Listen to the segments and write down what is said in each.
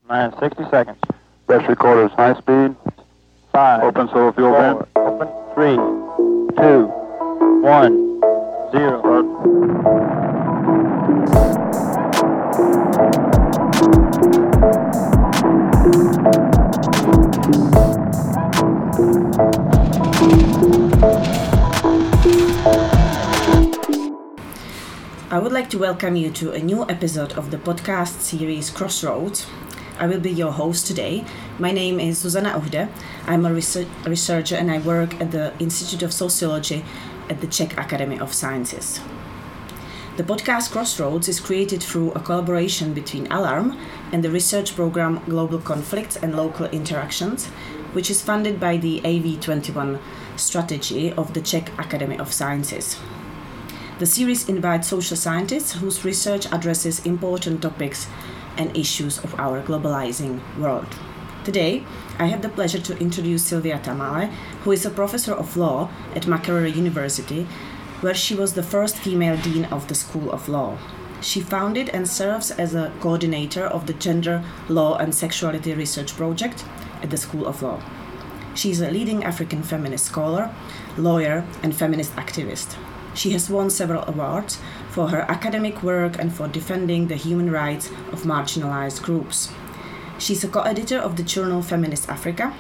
9, 60 seconds. Best recorders, high speed. 5. Open solo fuel vent. Open. 3, 2, 1, 0. I would like to welcome you to a new episode of the podcast series Crossroads. I will be your host today. My name is Zuzana Uhde. I'm a researcher and I work at the Institute of Sociology at the Czech Academy of Sciences. The podcast Crossroads is created through a collaboration between Alarm and the research program Global Conflicts and Local Interactions, which is funded by the AV21 strategy of the Czech Academy of Sciences. The series invites social scientists whose research addresses important topics and issues of our globalizing world. Today, I have the pleasure to introduce Silvia Tamale, who is a professor of law at Makerere University, where she was the first female dean of the School of Law. She founded and serves as a coordinator of the Gender, Law and Sexuality Research Project at the School of Law. She is a leading African feminist scholar, lawyer, and feminist activist. She has won several awards for her academic work and for defending the human rights of marginalized groups. She's a co-editor of the journal Feminist Africa,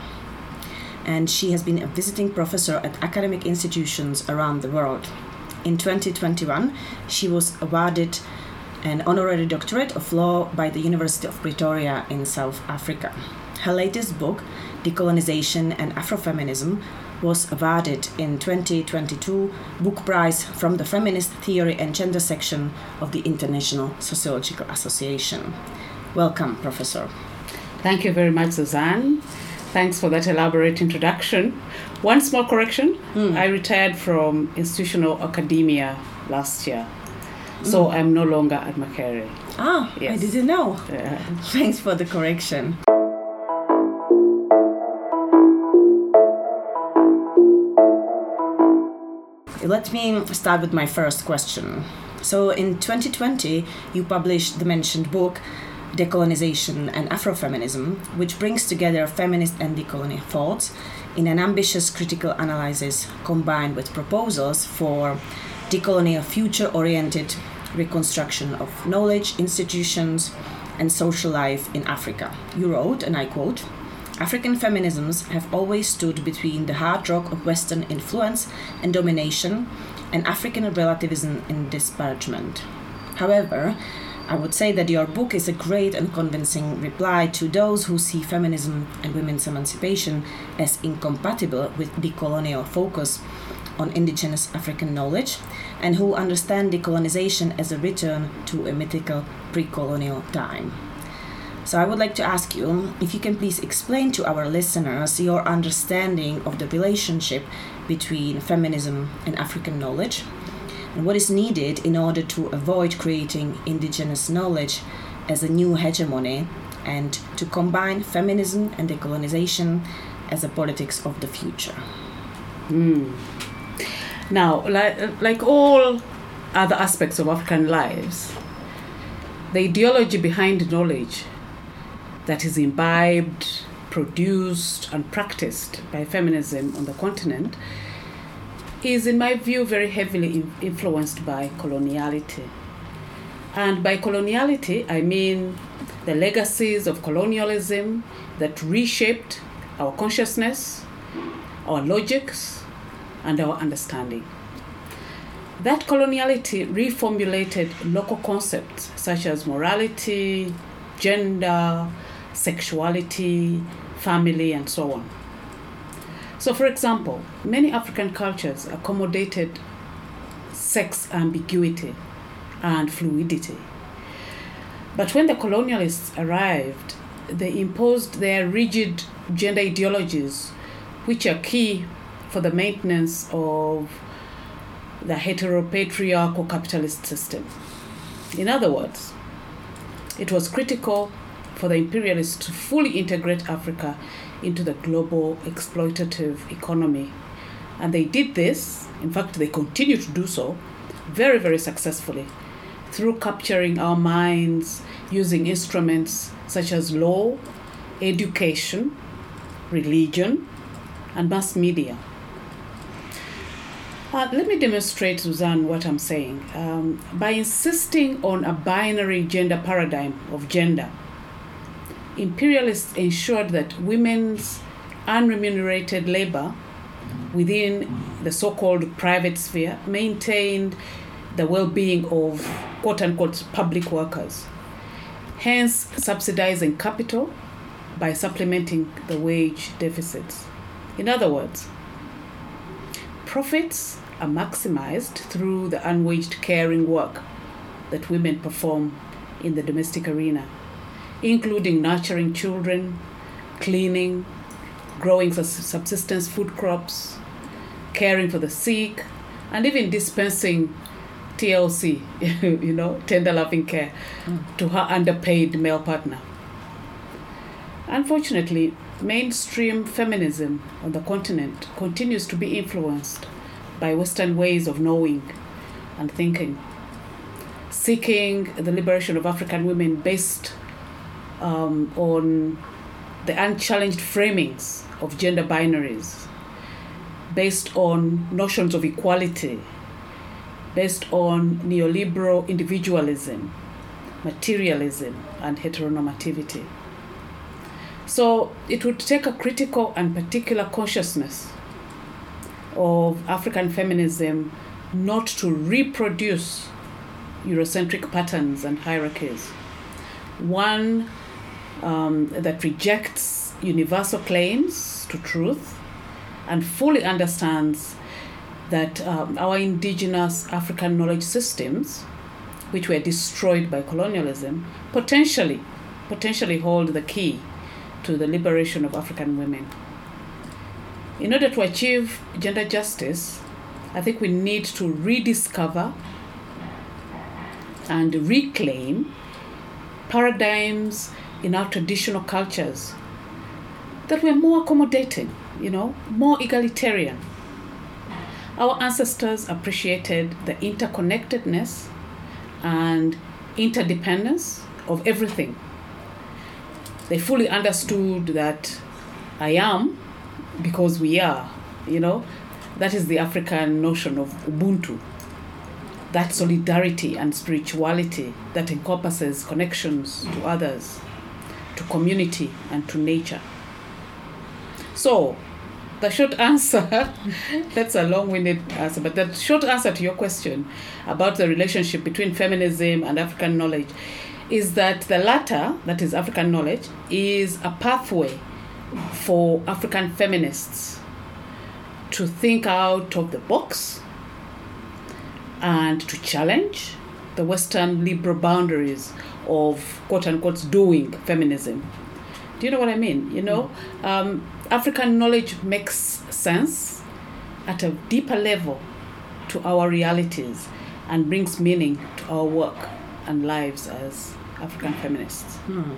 and she has been a visiting professor at academic institutions around the world. In 2021, she was awarded an honorary doctorate of law by the University of Pretoria in South Africa. Her latest book, Decolonization and Afrofeminism, was awarded in 2022 Book Prize from the Feminist Theory and Gender section of the International Sociological Association. Welcome, Professor. Thank you very much, Suzanne. Thanks for that elaborate introduction. One small correction. I retired from institutional academia last year. So I'm no longer at Makerere. Yes. I didn't know. Thanks for the correction. Let me start with my first question. So in 2020, you published the mentioned book, Decolonization and Afrofeminism, which brings together feminist and decolonial thoughts in an ambitious critical analysis combined with proposals for decolonial future-oriented reconstruction of knowledge, institutions, and social life in Africa. You wrote, and I quote, "African feminisms have always stood between the hard rock of Western influence and domination and African relativism and disparagement. However, I would say that your book is a great and convincing reply to those who see feminism and women's emancipation as incompatible with decolonial focus on indigenous African knowledge and who understand decolonization as a return to a mythical pre-colonial time." So I would like to ask you if you can please explain to our listeners your understanding of the relationship between feminism and African knowledge and what is needed in order to avoid creating indigenous knowledge as a new hegemony and to combine feminism and decolonization as a politics of the future. Now, like all other aspects of African lives, the ideology behind knowledge that is imbibed, produced, and practiced by feminism on the continent is, in my view, very heavily influenced by coloniality. And by coloniality, I mean the legacies of colonialism that reshaped our consciousness, our logics, and our understanding. That coloniality reformulated local concepts such as morality, gender, sexuality, family, and so on. So, for example, many African cultures accommodated sex ambiguity and fluidity. But when the colonialists arrived, they imposed their rigid gender ideologies, which are key for the maintenance of the heteropatriarchal capitalist system. In other words, it was critical for the imperialists to fully integrate Africa into the global exploitative economy. And they did this, in fact, they continue to do so, very, very successfully through capturing our minds using instruments such as law, education, religion, and mass media. Let me demonstrate, Suzanne, what I'm saying. By insisting on a binary gender paradigm of gender, imperialists ensured that women's unremunerated labor within the so-called private sphere maintained the well-being of quote-unquote public workers, hence subsidizing capital by supplementing the wage deficits. In other words, profits are maximized through the unwaged caring work that women perform in the domestic arena, including nurturing children, cleaning, growing subsistence food crops, caring for the sick, and even dispensing TLC, tender loving care, to her underpaid male partner. Unfortunately, mainstream feminism on the continent continues to be influenced by Western ways of knowing and thinking, seeking the liberation of African women based on the unchallenged framings of gender binaries, based on notions of equality, based on neoliberal individualism, materialism, and heteronormativity. So it would take a critical and particular consciousness of African feminism not to reproduce Eurocentric patterns and hierarchies. One that rejects universal claims to truth and fully understands that our indigenous African knowledge systems, which were destroyed by colonialism, potentially hold the key to the liberation of African women. In order to achieve gender justice, I think we need to rediscover and reclaim paradigms in our traditional cultures that were more accommodating, more egalitarian. Our ancestors appreciated the interconnectedness and interdependence of everything. They fully understood that I am because we are, that is the African notion of Ubuntu, that solidarity and spirituality that encompasses connections to others, to community, and to nature. So, the short answer, that's a long-winded answer, but the short answer to your question about the relationship between feminism and African knowledge is that the latter, that is African knowledge, is a pathway for African feminists to think out of the box and to challenge the Western liberal boundaries of quote-unquote doing feminism. Do you know what I mean? African knowledge makes sense at a deeper level to our realities and brings meaning to our work and lives as African feminists.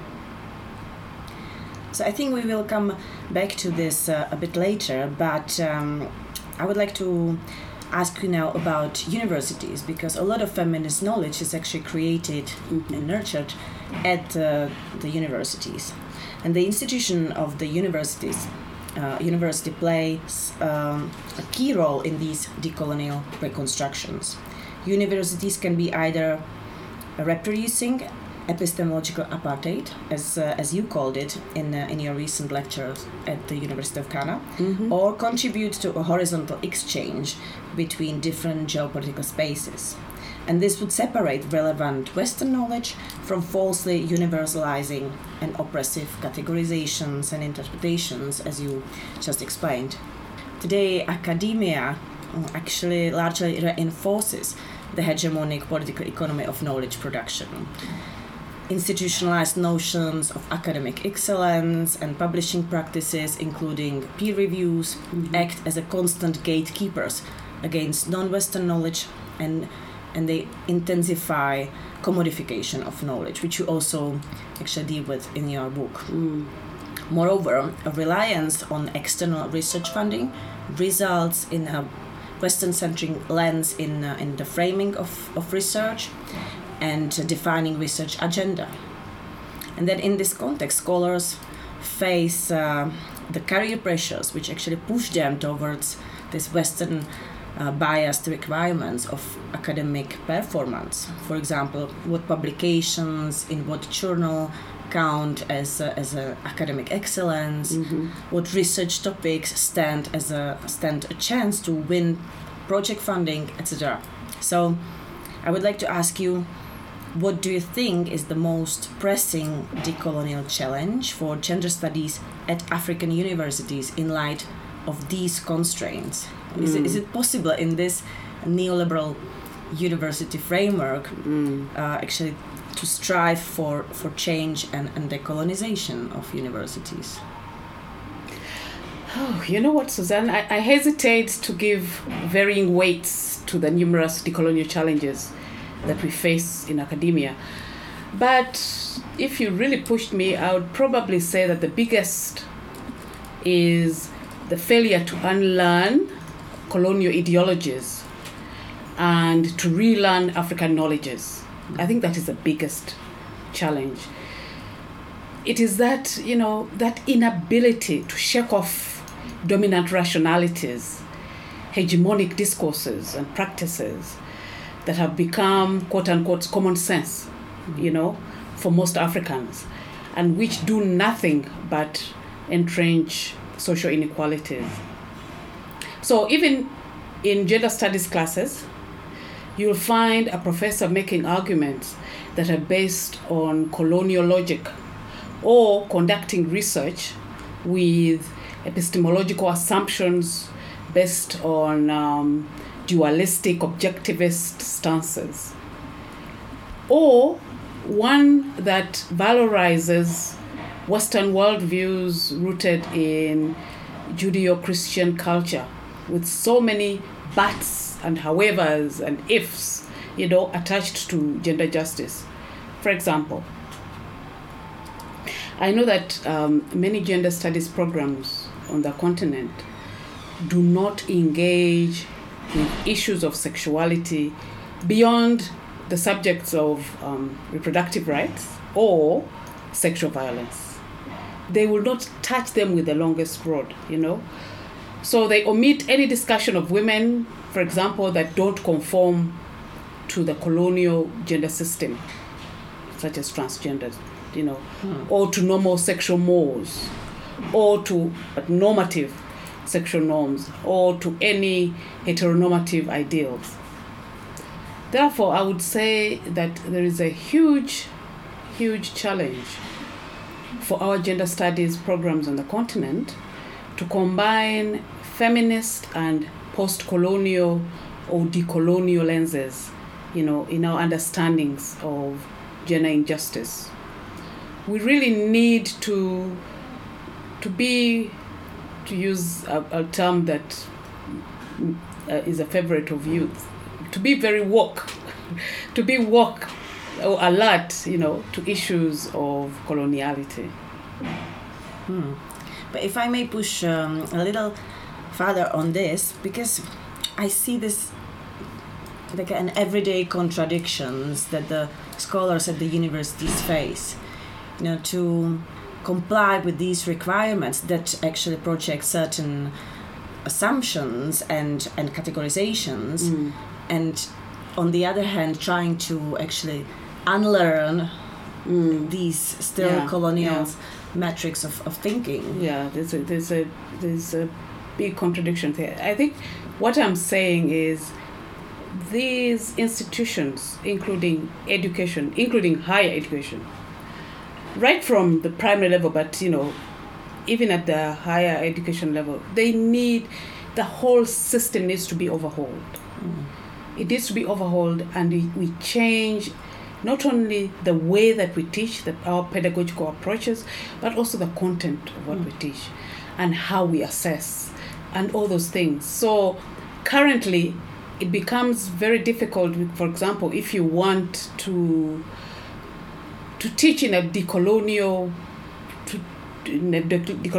So I think we will come back to this a bit later, but I would like to ask you now about universities, because a lot of feminist knowledge is actually created and nurtured at the universities. And the institution of the universities, university plays a key role in these decolonial reconstructions. Universities can be either reproducing epistemological apartheid, as you called it in your recent lecture at the University of Ghana, or contribute to a horizontal exchange between different geopolitical spaces. And this would separate relevant Western knowledge from falsely universalizing and oppressive categorizations and interpretations, as you just explained. Today, academia actually largely reinforces the hegemonic political economy of knowledge production. Institutionalized notions of academic excellence and publishing practices, including peer reviews, act as a constant gatekeepers against non-Western knowledge, and they intensify commodification of knowledge, which you also actually deal with in your book. Moreover, a reliance on external research funding results in a Western-centric lens in the framing of research and defining research agenda. And then in this context, scholars face the career pressures which actually push them towards this Western biased requirements of academic performance. For example, what publications in what journal count as academic excellence, what research topics stand a chance to win project funding, etc. So I would like to ask you, what do you think is the most pressing decolonial challenge for gender studies at African universities in light of these constraints? Is it possible in this neoliberal university framework actually to strive for change and decolonization of universities? Oh, you know what, Suzanne? I hesitate to give varying weights to the numerous decolonial challenges that we face in academia. But if you really pushed me, I would probably say that the biggest is the failure to unlearn colonial ideologies and to relearn African knowledges. I think that is the biggest challenge. It is that, that inability to shake off dominant rationalities, hegemonic discourses and practices that have become, quote unquote, common sense, for most Africans, and which do nothing but entrench social inequalities. So even in gender studies classes, you'll find a professor making arguments that are based on colonial logic or conducting research with epistemological assumptions based on dualistic objectivist stances, or one that valorizes Western worldviews rooted in Judeo-Christian culture with so many buts and howevers and ifs, attached to gender justice. For example, I know that many gender studies programs on the continent do not engage with issues of sexuality beyond the subjects of reproductive rights or sexual violence. They will not touch them with the longest rod, So they omit any discussion of women, for example, that don't conform to the colonial gender system, such as transgenders, or to normal sexual mores, or to normative sexual norms, or to any heteronormative ideals. Therefore, I would say that there is a huge, huge challenge for our gender studies programs on the continent to combine feminist and post-colonial or decolonial lenses, in our understandings of gender injustice. We really need to use a term that is a favorite of youth, to be very woke, to be woke or alert, to issues of coloniality. But if I may push a little further on this, because I see this like an everyday contradictions that the scholars at the universities face, to comply with these requirements that actually project certain assumptions and categorizations, and on the other hand trying to actually unlearn these still colonial metrics of thinking. Yeah, there's a big contradiction there. I think what I'm saying is these institutions, including education, including higher education, right from the primary level, but even at the higher education level, the whole system needs to be overhauled. It needs to be overhauled, and we change not only the way that we teach, our pedagogical approaches, but also the content of what we teach and how we assess and all those things. So currently, it becomes very difficult, for example, if you want to teach in a decolonial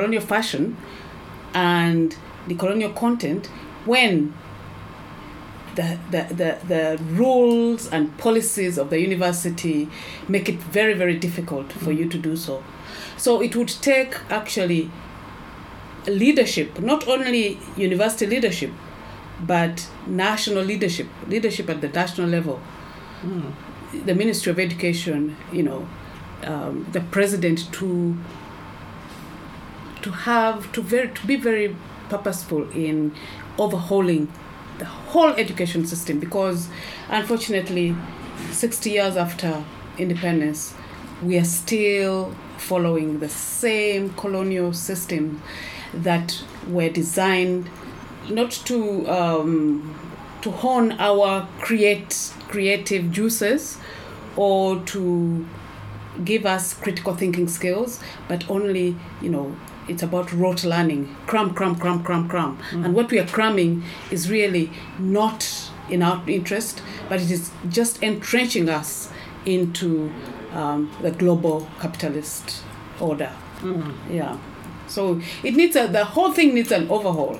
fashion and decolonial content, when the rules and policies of the university make it very, very difficult for you to do so. So it would take actually leadership, not only university leadership, but national leadership at the national level. The Ministry of Education, the president to be very purposeful in overhauling the whole education system, because unfortunately 60 years after independence we are still following the same colonial system that were designed not to hone our creative juices or to give us critical thinking skills, but only, it's about rote learning, cram. And what we are cramming is really not in our interest, but it is just entrenching us into the global capitalist order. Yeah. So it needs the whole thing needs an overhaul.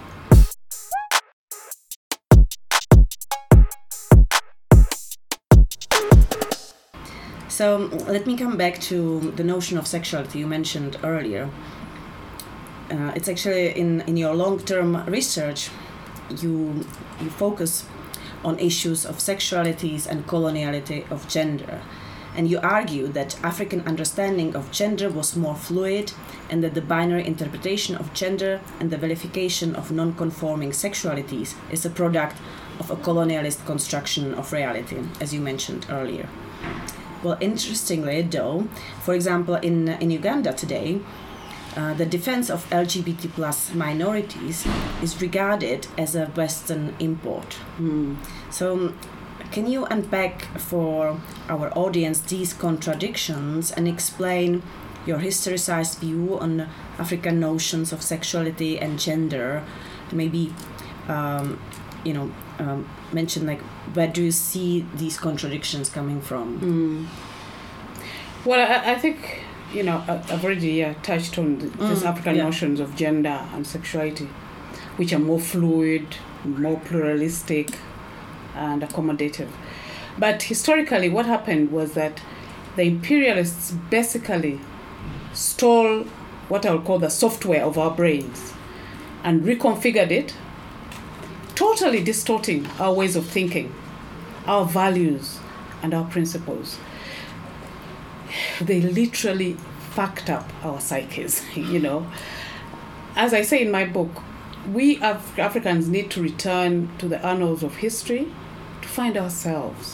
So let me come back to the notion of sexuality you mentioned earlier. It's actually in your long-term research, you focus on issues of sexualities and coloniality of gender. And you argue that African understanding of gender was more fluid, and that the binary interpretation of gender and the vilification of non-conforming sexualities is a product of a colonialist construction of reality, as you mentioned earlier. Well, interestingly, though, for example, in Uganda today, the defense of LGBT plus minorities is regarded as a Western import. So can you unpack for our audience these contradictions and explain your historicized view on African notions of sexuality and gender? Maybe, mention where do you see these contradictions coming from? Well, I think, I've already touched on these African notions of gender and sexuality, which are more fluid, more pluralistic, and accommodative. But historically, what happened was that the imperialists basically stole what I would call the software of our brains and reconfigured it, totally distorting our ways of thinking, our values, and our principles. They literally fucked up our psyches, As I say in my book, we Africans need to return to the annals of history to find ourselves,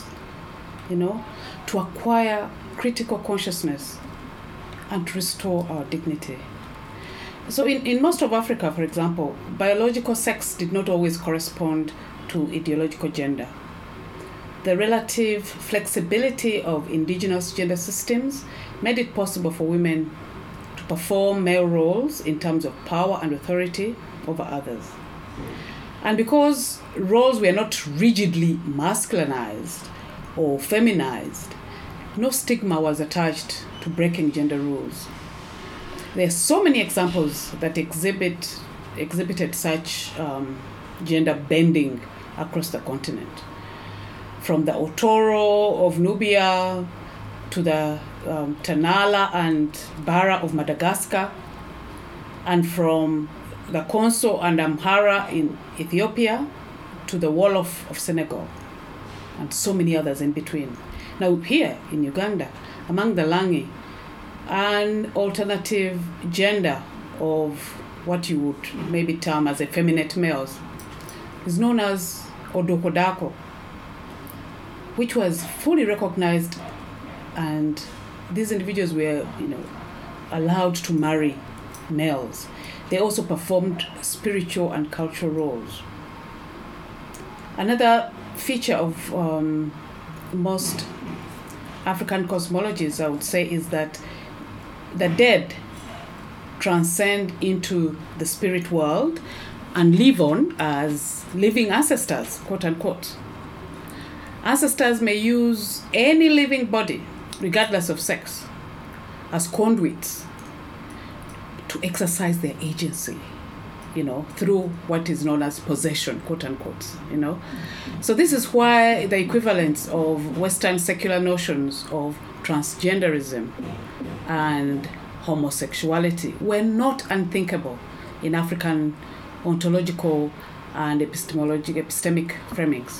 to acquire critical consciousness and to restore our dignity. So in most of Africa, for example, biological sex did not always correspond to ideological gender. The relative flexibility of indigenous gender systems made it possible for women to perform male roles in terms of power and authority over others. And because roles were not rigidly masculinized or feminized, no stigma was attached to breaking gender rules. There are so many examples that exhibited such gender bending across the continent. From the Otoro of Nubia to the Tanala and Bara of Madagascar, and from the Konso and Amhara in Ethiopia to the Wolof of Senegal, and so many others in between. Now here in Uganda, among the Langi, an alternative gender of what you would maybe term as effeminate males is known as Odokodako, which was fully recognized, and these individuals were, allowed to marry males. They also performed spiritual and cultural roles. Another feature of most African cosmologies, I would say, is that the dead transcend into the spirit world and live on as living ancestors, quote unquote. Ancestors may use any living body, regardless of sex, as conduits to exercise their agency through what is known as possession, quote unquote, So this is why the equivalence of Western secular notions of transgenderism and homosexuality were not unthinkable in African ontological and epistemic framings,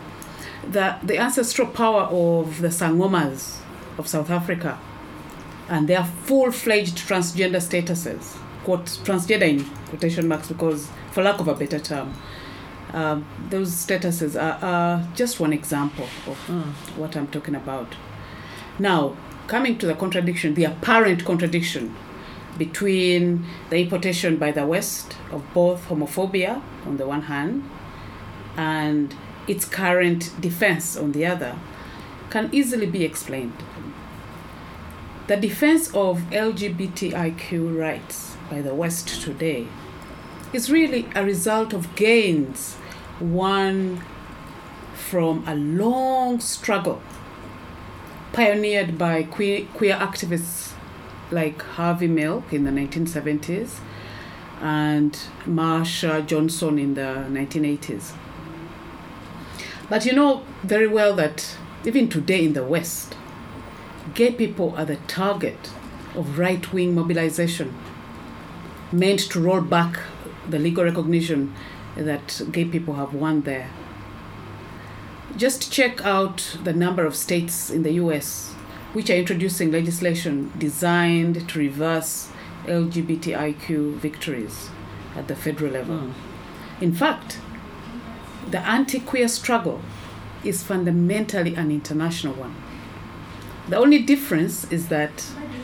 The ancestral power of the Sangomas of South Africa and their full-fledged transgender statuses, quote, transgender in quotation marks because, for lack of a better term, those statuses are just one example of what I'm talking about. Now, coming to the apparent contradiction between the importation by the West of both homophobia on the one hand and its current defense on the other, can easily be explained. The defense of LGBTIQ rights by the West today is really a result of gains won from a long struggle pioneered by queer activists like Harvey Milk in the 1970s and Marsha Johnson in the 1980s. But you know very well that even today in the West, gay people are the target of right-wing mobilization meant to roll back the legal recognition that gay people have won there. Just check out the number of states in the US which are introducing legislation designed to reverse LGBTIQ victories at the federal level. In fact, the anti-queer struggle is fundamentally an international one. The only difference is that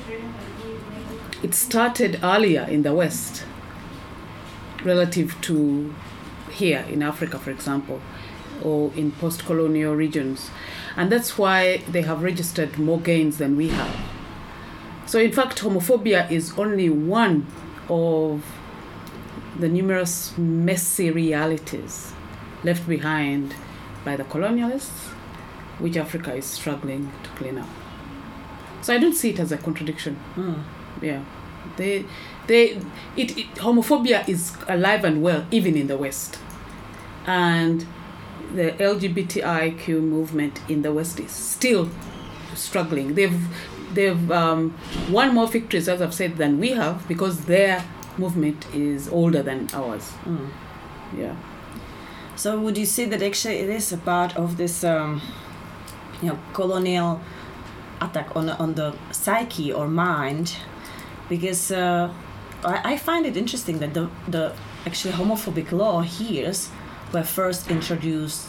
it started earlier in the West relative to here in Africa, for example, or in post-colonial regions. And that's why they have registered more gains than we have. So in fact, homophobia is only one of the numerous messy realities left behind by the colonialists, which Africa is struggling to clean up. So I don't see it as a contradiction. Yeah, homophobia is alive and well even in the West, and the LGBTIQ movement in the West is still struggling. They've won more victories, as I've said, than we have because their movement is older than ours. Yeah. So would you say that actually it is a part of this, colonial attack on the psyche or mind? Because I find it interesting that the actually homophobic law here were first introduced,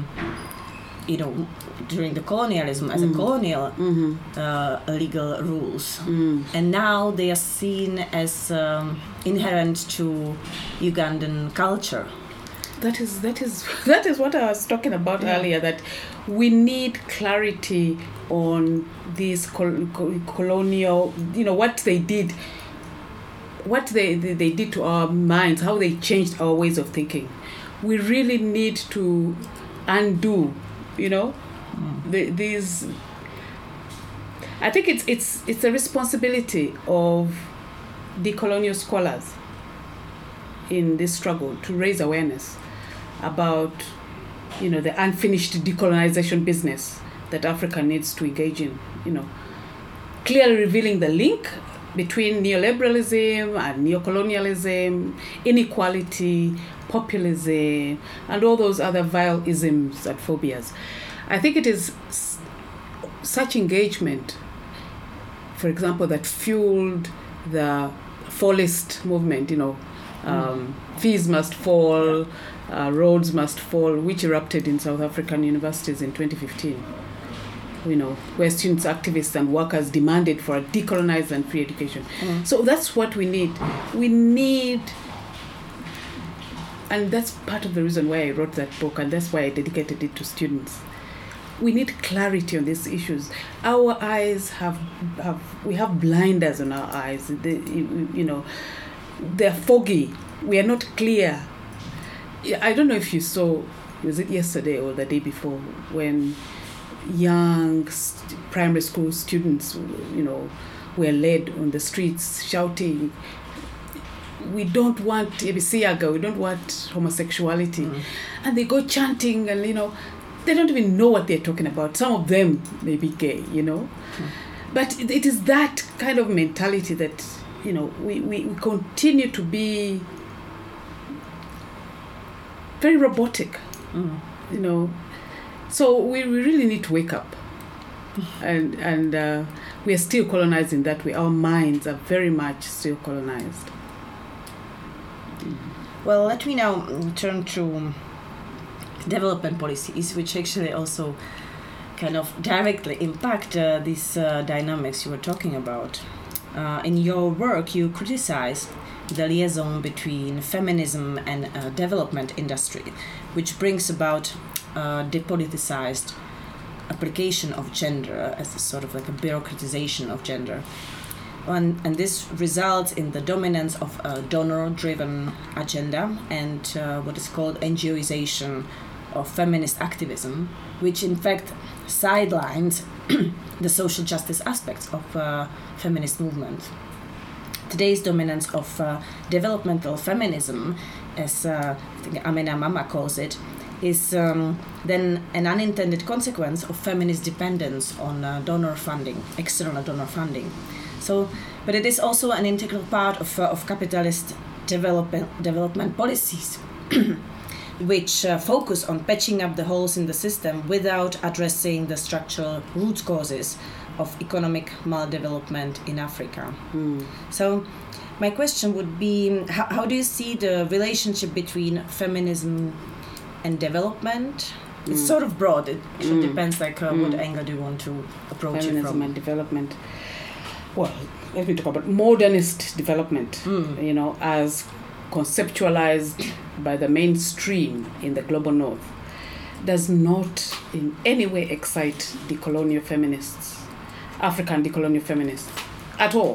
during the colonialism as a colonial legal rules, and now they are seen as inherent to Ugandan culture. That is what I was talking about earlier, that we need clarity on these colonial, what they did to our minds, how they changed our ways of thinking. We really need to undo, these. I think it's a responsibility of decolonial scholars in this struggle to raise awareness about, the unfinished decolonization business that Africa needs to engage in, clearly revealing the link between neoliberalism and neocolonialism, inequality, populism, and all those other vile isms and phobias. I think it is such engagement, for example, that fueled the fallist movement, fees must fall, roads must fall, which erupted in South African universities in 2015. Where students, activists, and workers demanded for a decolonized and free education. So that's what we need. And that's part of the reason why I wrote that book, and that's why I dedicated it to students. We need clarity on these issues. Our eyes we have blinders on our eyes. They're foggy. We are not clear. I don't know if you saw, was it yesterday or the day before, when young primary school students, were led on the streets shouting, we don't want Ebisiaga, we don't want homosexuality. And they go chanting and, they don't even know what they're talking about. Some of them may be gay, But it is that kind of mentality that, we continue to be very robotic, So we really need to wake up. And we are still colonized in that way. Our minds are very much still colonized. Well, let me now turn to development policies, which actually also kind of directly impact these dynamics you were talking about. In your work, you criticize the liaison between feminism and development industry, which brings about depoliticized application of gender as a sort of like a bureaucratization of gender. And this results in the dominance of a donor-driven agenda and what is called NGOization of feminist activism, which in fact sidelines the social justice aspects of feminist movement. Today's dominance of developmental feminism, as I think Amena Mama calls it, is then an unintended consequence of feminist dependence on donor funding, external donor funding. But it is also an integral part of capitalist development policies, which focus on patching up the holes in the system without addressing the structural root causes of economic maldevelopment in Africa. So my question would be, how do you see the relationship between feminism and development? It's sort of broad. It depends what angle do you want to approach feminism it from. And development. Well, let me talk about modernist development, as conceptualized by the mainstream in the global north, does not in any way excite decolonial feminists, African decolonial feminists, at all,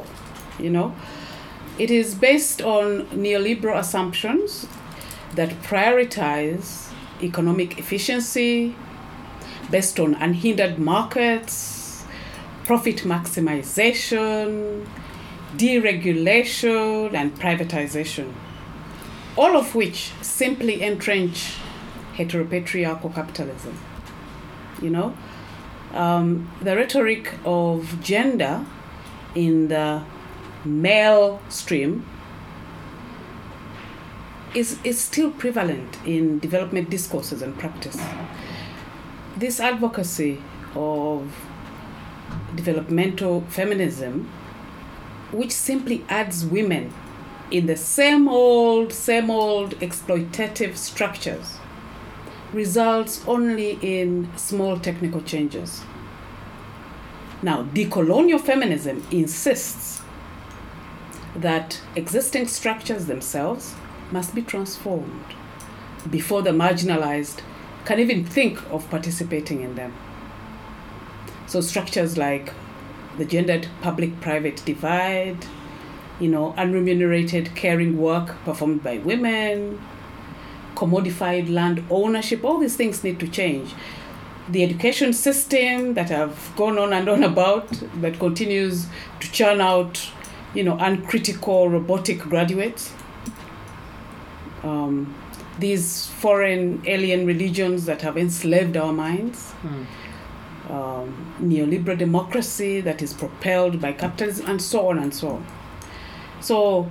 It is based on neoliberal assumptions that prioritize economic efficiency based on unhindered markets, profit maximization, deregulation, and privatization, all of which simply entrench heteropatriarchal capitalism. The rhetoric of gender in the male stream is still prevalent in development discourses and practice. This advocacy of developmental feminism, which simply adds women in the same old exploitative structures, results only in small technical changes. Now, decolonial feminism insists that existing structures themselves must be transformed before the marginalized can even think of participating in them. So structures like the gendered public-private divide, unremunerated caring work performed by women, commodified land ownership, all these things need to change. The education system that I've gone on and on about, that continues to churn out, uncritical robotic graduates. These foreign alien religions that have enslaved our minds. Neoliberal democracy that is propelled by capitalism, and so on and so on. So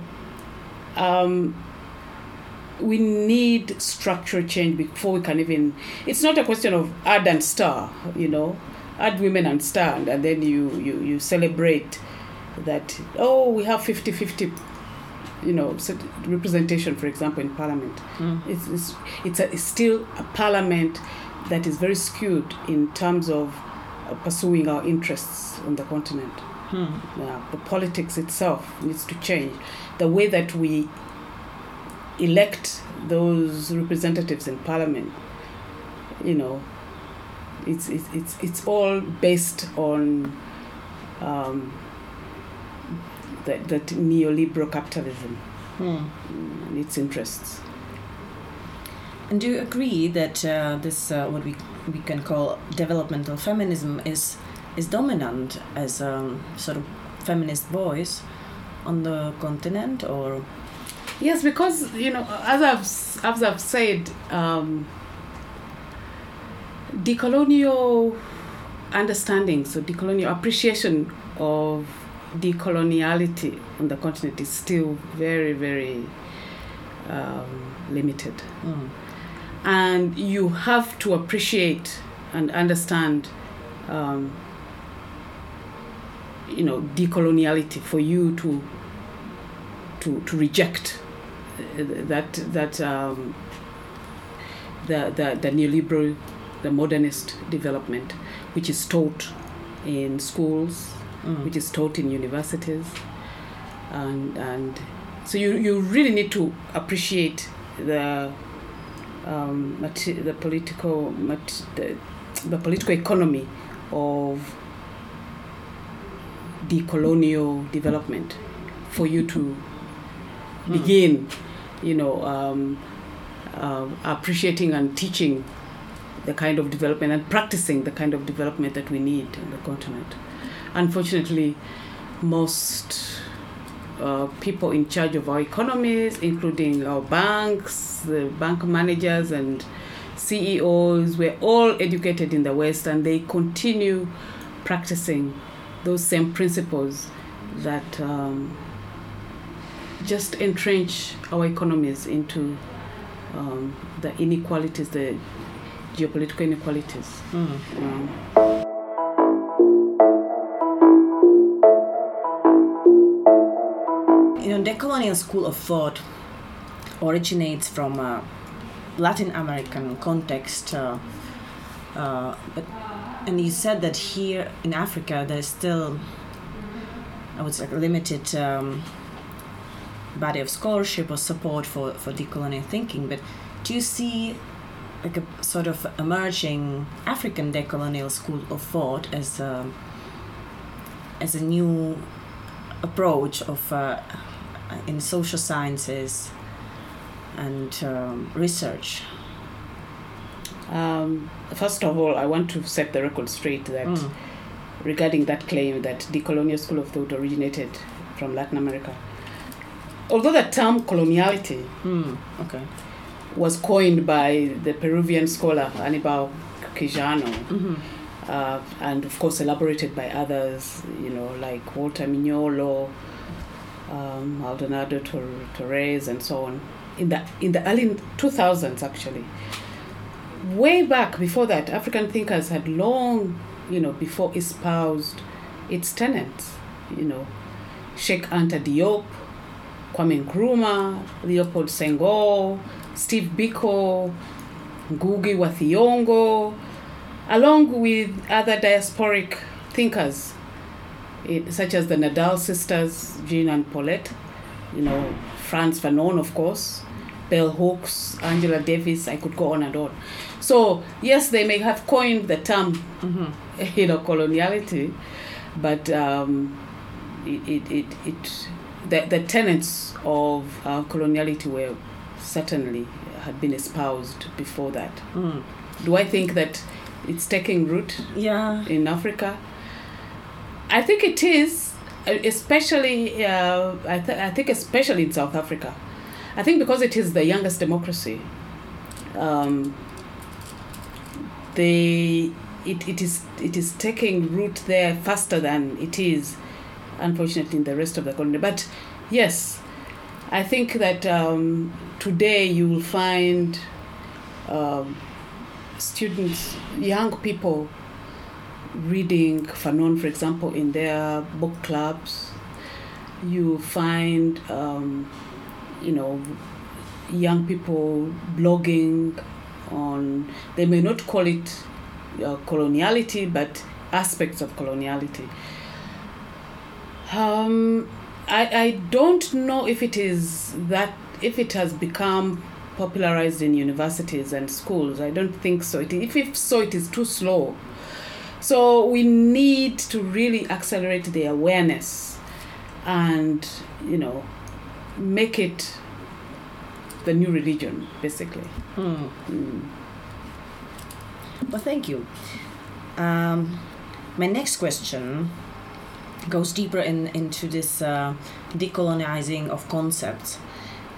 we need structural change before we can even... It's not a question of add and star, add women and star, and then you celebrate that, we have 50-50, representation, for example, in parliament. It's still a parliament that is very skewed in terms of pursuing our interests on the continent. The politics itself needs to change. The way that we elect those representatives in parliament, it's all based on that neoliberal capitalism and its interests. And do you agree that this what we can call developmental feminism is dominant as a sort of feminist voice on the continent, or Yes, because as I've said, decolonial understanding, so decolonial appreciation of decoloniality on the continent is still very, very limited. And you have to appreciate and understand decoloniality for you to reject the neoliberal, the modernist development, which is taught in schools, which is taught in universities, and so you really need to appreciate the political economy of decolonial development for you to begin, appreciating and teaching the kind of development and practicing the kind of development that we need on the continent. Unfortunately, most people in charge of our economies, including our banks, the bank managers and CEOs, were all educated in the West, and they continue practicing those same principles that just entrench our economies into the inequalities, the geopolitical inequalities. Decolonial school of thought originates from a Latin American context, and you said that here in Africa there's still, I would say, limited body of scholarship or support for decolonial thinking. But do you see like a sort of emerging African decolonial school of thought as a new approach of in social sciences and research? First of all, I want to set the record straight that regarding that claim that decolonial school of thought originated from Latin America. Although the term coloniality was coined by the Peruvian scholar Aníbal Quijano, and of course elaborated by others, like Walter Mignolo, Maldonado Torres, and so on, in the early 2000s, actually. Way back before that, African thinkers had long, before espoused its tenets. Sheikh Anta Diop, Kwame Nkrumah, Leopold Senghor, Steve Biko, Ngugi wa Thiong'o, along with other diasporic thinkers, such as the Nadal sisters, Jean and Paulette, Frantz Fanon, of course, Bell Hooks, Angela Davis, I could go on and on. So, yes, they may have coined the term, coloniality, but the tenets of coloniality were certainly had been espoused before that. Do I think that it's taking root in Africa? I think it is, especially, I think especially in South Africa. I think because it is the youngest democracy, it is taking root there faster than it is, unfortunately, in the rest of the colony. But yes, I think that today you will find students, young people, reading Fanon, for example, in their book clubs. You find, young people blogging on, they may not call it coloniality, but aspects of coloniality. I don't know if it has become popularized in universities and schools. I don't think so. If so, it is too slow. So we need to really accelerate the awareness and, make it the new religion, basically. Well, thank you. My next question goes deeper into this decolonizing of concepts.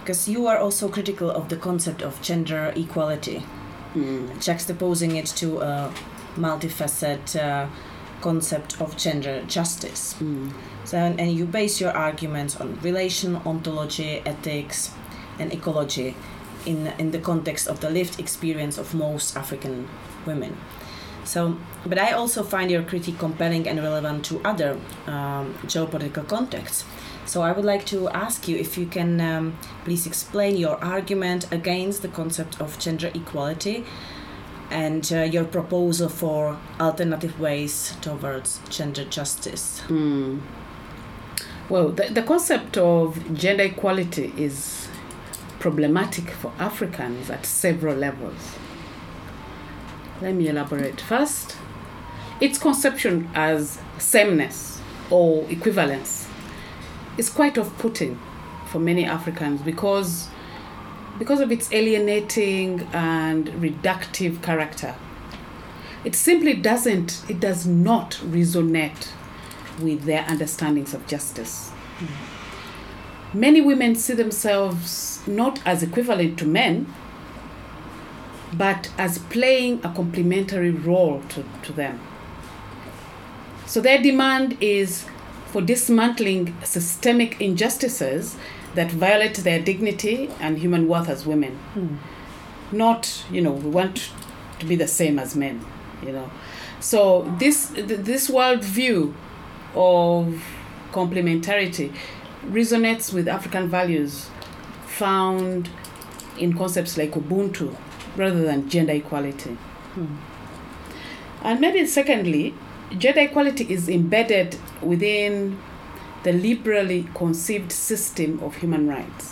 because you are also critical of the concept of gender equality, juxtaposing it to a multifaceted concept of gender justice. So, and you base your arguments on relation, ontology, ethics, and ecology in the context of the lived experience of most African women. So, but I also find your critique compelling and relevant to other geopolitical contexts. So I would like to ask you if you can please explain your argument against the concept of gender equality and your proposal for alternative ways towards gender justice. Well, the concept of gender equality is problematic for Africans at several levels. Let me elaborate. First, its conception as sameness or equivalence is quite off-putting for many Africans because of its alienating and reductive character. It simply does not resonate with their understandings of justice. Many women see themselves not as equivalent to men, but as playing a complementary role to them. So their demand is for dismantling systemic injustices that violate their dignity and human worth as women. Not, we want to be the same as men, So this worldview of complementarity resonates with African values found in concepts like Ubuntu rather than gender equality. And maybe secondly, gender equality is embedded within the liberally conceived system of human rights.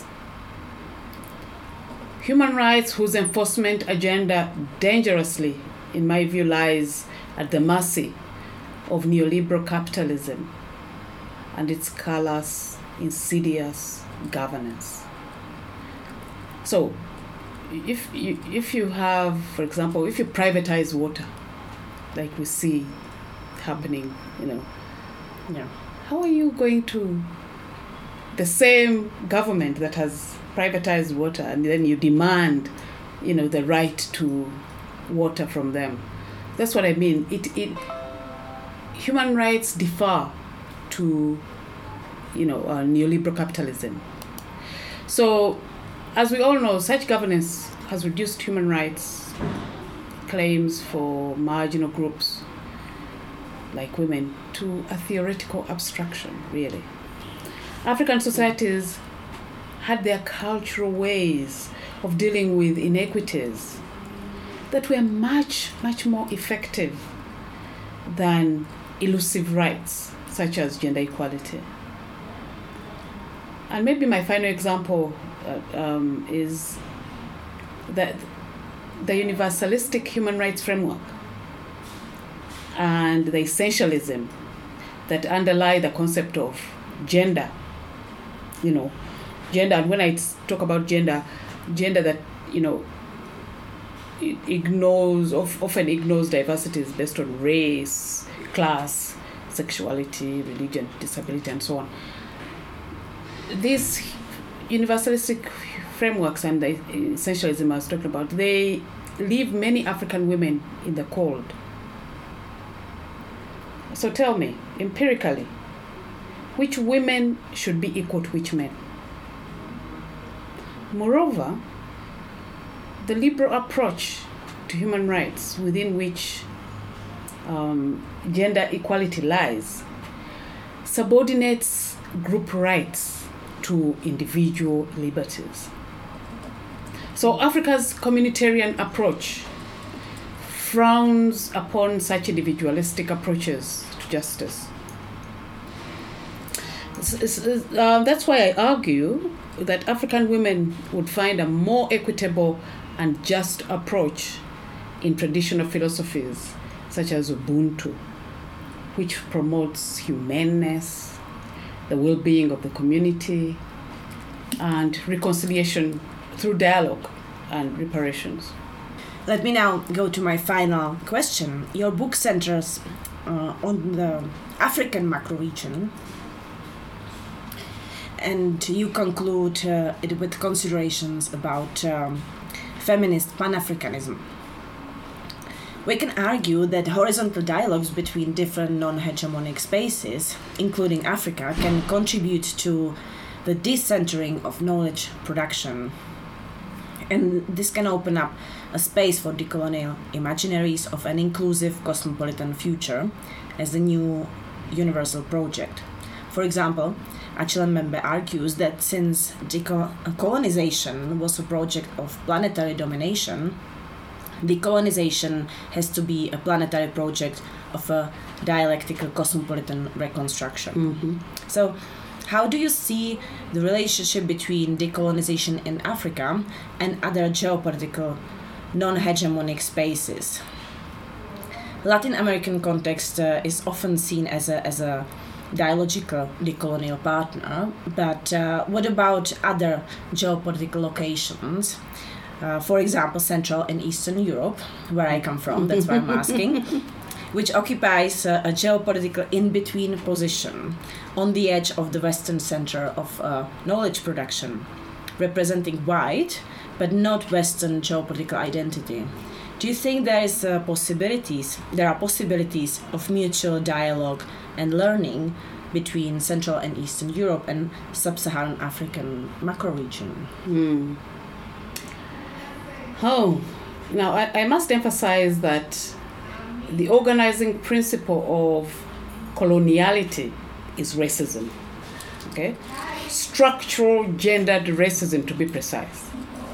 Human rights whose enforcement agenda dangerously, in my view, lies at the mercy of neoliberal capitalism and its callous, insidious governance. So, if you have, for example, if you privatize water, like we see happening, how are you going to, the same government that has privatized water, and then you demand, the right to water from them? That's what I mean. Human rights differ to, neoliberal capitalism. So, as we all know, such governance has reduced human rights claims for marginal groups like women to a theoretical abstraction, really. African societies had their cultural ways of dealing with inequities that were much, much more effective than elusive rights such as gender equality. And maybe my final example is that the universalistic human rights framework and the essentialism that underlie the concept of gender, gender, and when I talk about gender that, it often ignores diversities based on race, class, sexuality, religion, disability, and so on. These universalistic frameworks and the essentialism I was talking about, they leave many African women in the cold. So tell me, empirically, which women should be equal to which men? Moreover, the liberal approach to human rights within which gender equality lies subordinates group rights to individual liberties. So Africa's communitarian approach frowns upon such individualistic approaches to justice. That's why I argue that African women would find a more equitable and just approach in traditional philosophies such as Ubuntu, which promotes humaneness, the well-being of the community, and reconciliation through dialogue and reparations. Let me now go to my final question. Your book centers on the African macro-region. and you conclude it with considerations about feminist Pan-Africanism. We can argue that horizontal dialogues between different non-hegemonic spaces, including Africa, can contribute to the decentering of knowledge production. And this can open up a space for decolonial imaginaries of an inclusive cosmopolitan future as a new universal project. For example, Achille Mbembe argues that since decolonization was a project of planetary domination, decolonization has to be a planetary project of a dialectical cosmopolitan reconstruction. Mm-hmm. So, how do you see the relationship between decolonization in Africa and other geopolitical non-hegemonic spaces? Latin American context is often seen as a dialogical decolonial partner, but what about other geopolitical locations? For example, Central and Eastern Europe, where I come from, that's why I'm asking, which occupies a geopolitical in-between position on the edge of the Western center of knowledge production, representing white but not Western geopolitical identity. Do you think there are possibilities of mutual dialogue and learning between Central and Eastern Europe and Sub-Saharan African macro-region? Oh, now I must emphasize that the organizing principle of coloniality is racism. Okay? Structural gendered racism, to be precise.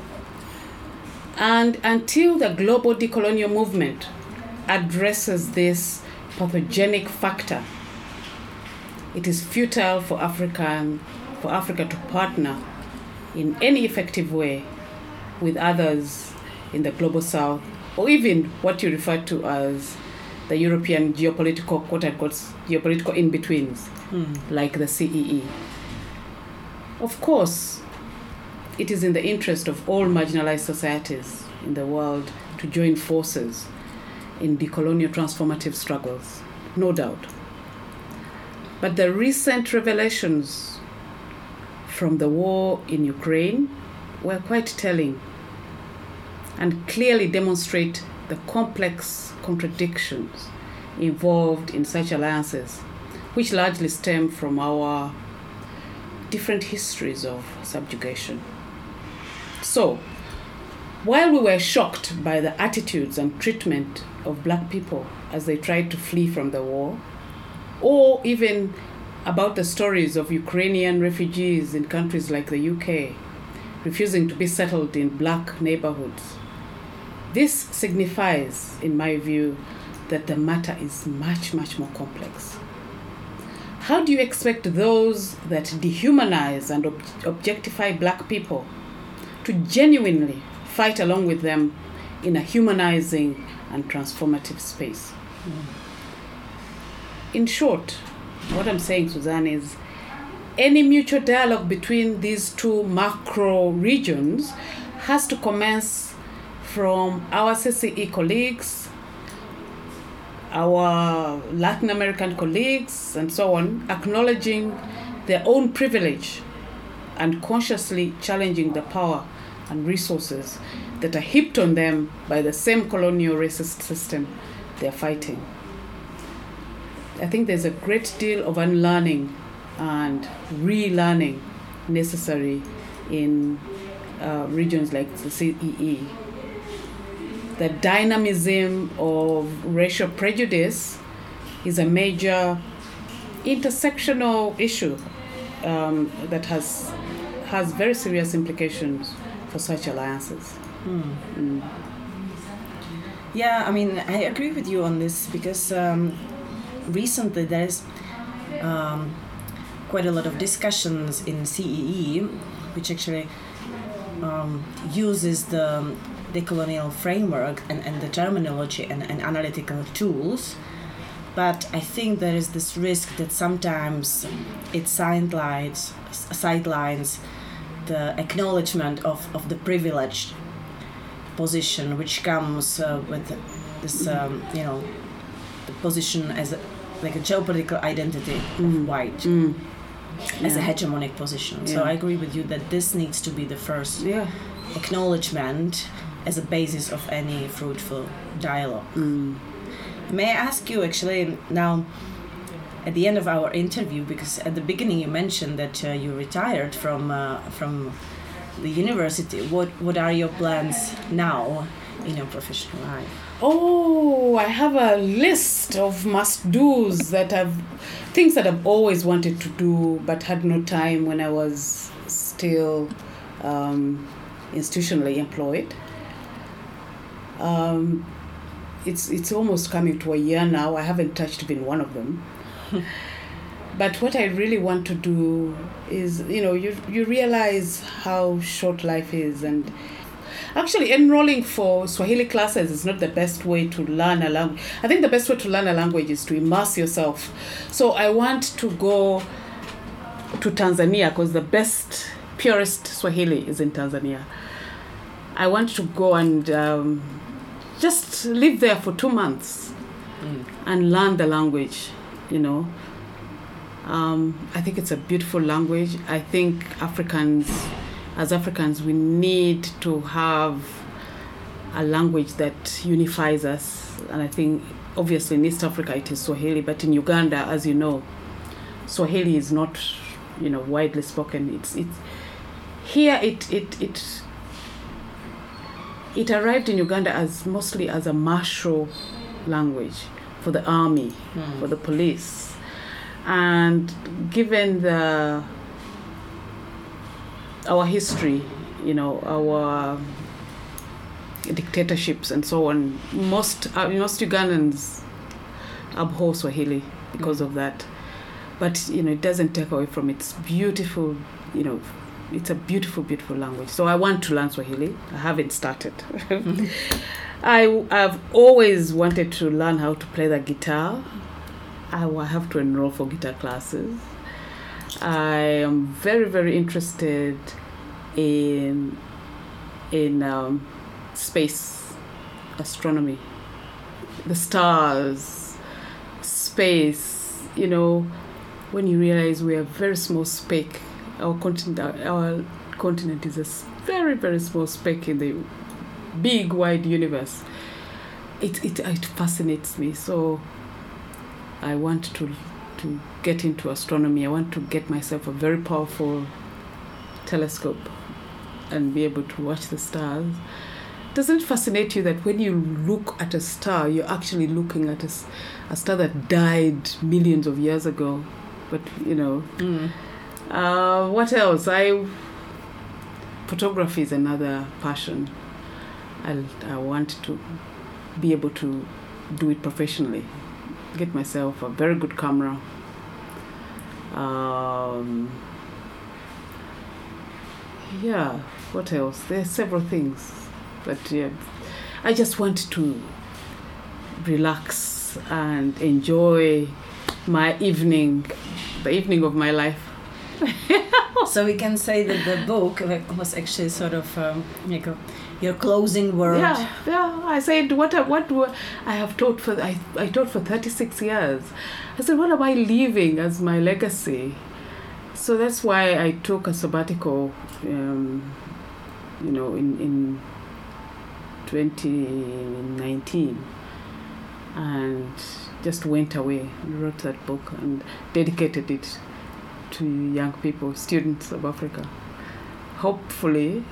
And until the global decolonial movement addresses this pathogenic factor, it is futile for Africa to partner in any effective way with others in the global south, or even what you refer to as the European geopolitical, quote-unquote, geopolitical in-betweens, like the CEE. Of course, it is in the interest of all marginalized societies in the world to join forces in decolonial transformative struggles, no doubt. But the recent revelations from the war in Ukraine were quite telling and clearly demonstrate the complex contradictions involved in such alliances, which largely stem from our different histories of subjugation. So, while we were shocked by the attitudes and treatment of Black people as they tried to flee from the war, or even about the stories of Ukrainian refugees in countries like the UK refusing to be settled in Black neighborhoods, this signifies, in my view, that the matter is much, much more complex. How do you expect those that dehumanize and objectify Black people to genuinely fight along with them in a humanizing and transformative space? In short, what I'm saying, Suzanne, is any mutual dialogue between these two macro regions has to commence from our CCE colleagues, our Latin American colleagues, and so on, acknowledging their own privilege and consciously challenging the power and resources that are heaped on them by the same colonial racist system they're fighting. I think there's a great deal of unlearning and relearning necessary in regions like the CEE. The dynamism of racial prejudice is a major intersectional issue that has very serious implications for such alliances. Yeah, I mean, I agree with you on this because recently there's quite a lot of discussions in CEE, which actually uses the decolonial framework and the terminology and analytical tools. But I think there is this risk that sometimes it sidelines the acknowledgement of the privileged position which comes with this, the position as a geopolitical identity of white. as a hegemonic position. So I agree with you that this needs to be the first acknowledgement as a basis of any fruitful dialogue. May I ask you actually now, at the end of our interview, because at the beginning you mentioned that you retired from the university. What are your plans now in your professional life? Oh, I have a list of must-dos things that I've always wanted to do but had no time when I was still institutionally employed. It's almost coming to a year now. I haven't touched even one of them. But what I really want to do is, you realize how short life is, and actually enrolling for Swahili classes is not the best way to learn a language. I think the best way to learn a language is to immerse yourself. So I want to go to Tanzania because the best, purest Swahili is in Tanzania. I want to go and just live there for 2 months and learn the language, I think it's a beautiful language. I think as Africans, we need to have a language that unifies us. And I think, obviously, in East Africa, it is Swahili. But in Uganda, as you know, Swahili is not, widely spoken. It arrived in Uganda mostly as a martial language for the army, for the police. And given our history, our dictatorships and so on, most Ugandans abhor Swahili because of that. But, it doesn't take away from its beautiful, it's a beautiful, beautiful language. So I want to learn Swahili. I haven't started. I've always wanted to learn how to play the guitar. I will have to enroll for guitar classes. I am very, very interested in space, astronomy, the stars, space. When you realize we are very small speck, our continent is a very, very small speck in the big, wide universe. It fascinates me. So I want to get into astronomy. I want to get myself a very powerful telescope and be able to watch the stars. Doesn't it fascinate you that when you look at a star, you're actually looking at a star that died millions of years ago? But, what else? Photography is another passion. I want to be able to do it professionally. Get myself a very good camera. What else? There are several things. But I just want to relax and enjoy my evening, the evening of my life. So we can say that the book was actually sort of your closing word. Yeah. I said, what I have taught I taught for 36 years. I said, what am I leaving as my legacy? So that's why I took a sabbatical, in 2019, and just went away and wrote that book and dedicated it to young people, students of Africa. Hopefully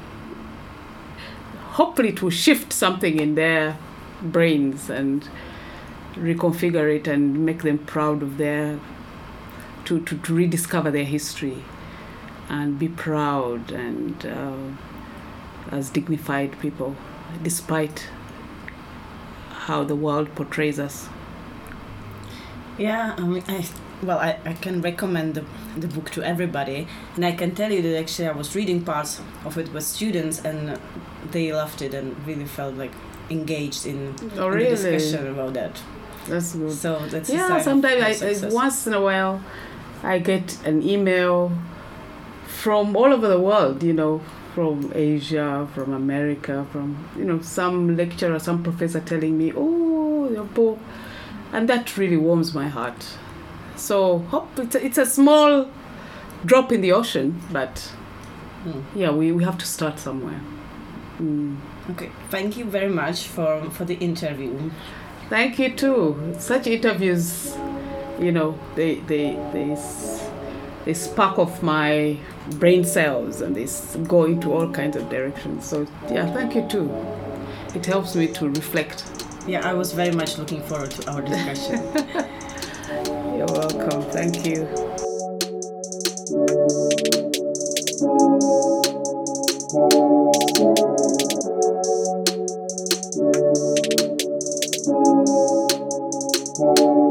it will shift something in their brains and reconfigure it and make them proud of to rediscover their history and be proud and as dignified people, despite how the world portrays us. Yeah, I can recommend the book to everybody, and I can tell you that actually I was reading parts of it with students, and they loved it and really felt like engaged in the discussion about that. That's good. So that's sometimes once in a while I get an email from all over the world, from Asia, from America, from some lecturer, some professor telling me, "Oh, your book," and that really warms my heart. So it's a small drop in the ocean, but yeah, we have to start somewhere. Okay, thank you very much for the interview. Thank you too. Such interviews, they spark off my brain cells and they go into all kinds of directions. So yeah, thank you too. It helps me to reflect. Yeah, I was very much looking forward to our discussion. You're welcome. Thank you. Thank you.